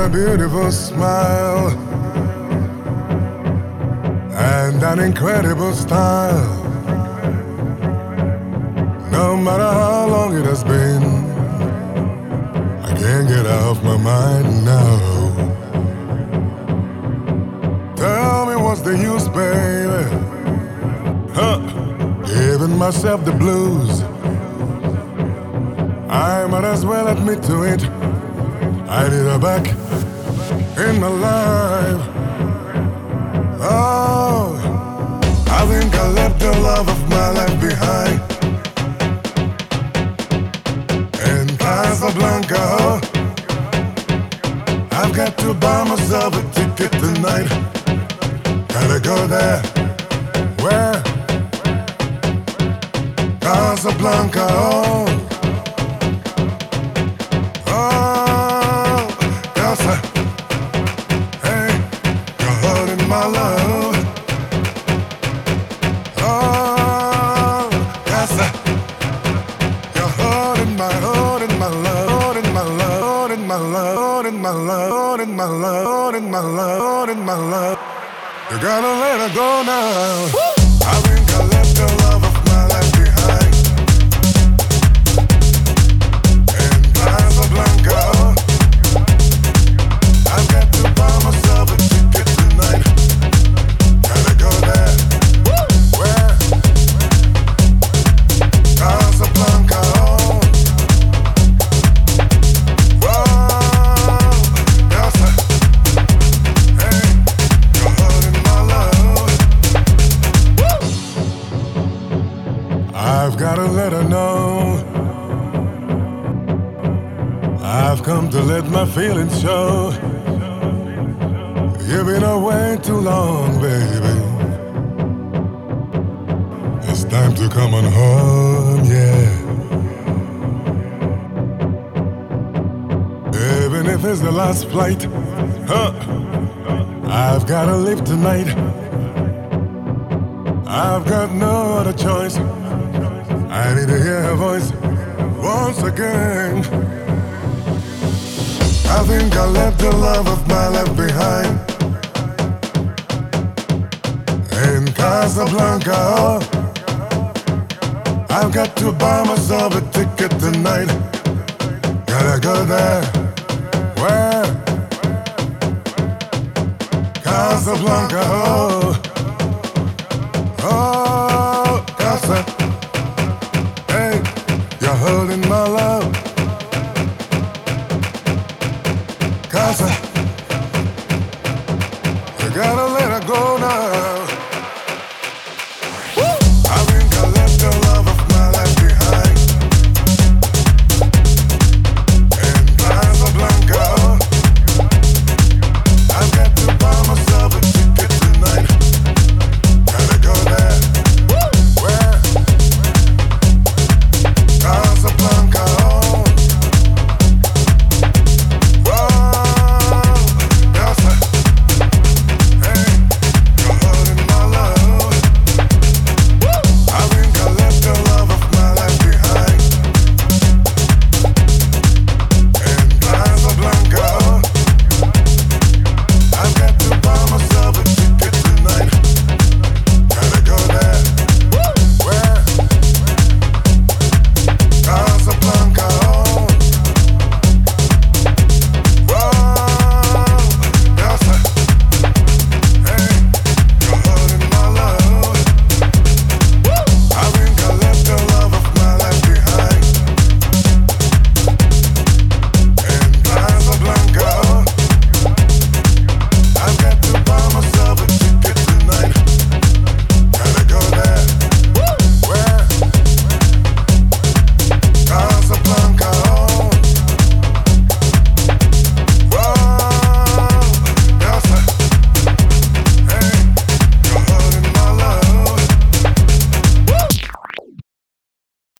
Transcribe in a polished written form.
a beautiful smile and an incredible style. No matter how long it has been, I can't get off my mind now. Tell me what's the use, baby? Giving myself the blues. I might as well admit to it. I need her back in my life. Oh, I think I left the love of my life behind in Casablanca. I've got to buy myself a ticket tonight. Gotta go there. Where? Casablanca. Oh, Casa. Hey, you're holding my love. Oh, Casa. You're holding my love, holding my love, holding my love, holding my love, holding my love, holding my love, holding my love. You gotta let her go now. I think I left the love of my life behind in Casablanca. I've got to buy myself a ticket tonight. Gotta go there. Where? Casablanca. I've gotta let her know I've come to let my feelings show. You've been away too long, baby. It's time to come on home, yeah. Even if it's the last flight, I've gotta leave tonight. I've got no other choice. I need to hear her voice once again. I think I left the love of my life behind in Casablanca. I've got to buy myself a ticket tonight. Gotta go there. Where? Casablanca. Oh, Casa. Hey, you're holding my love.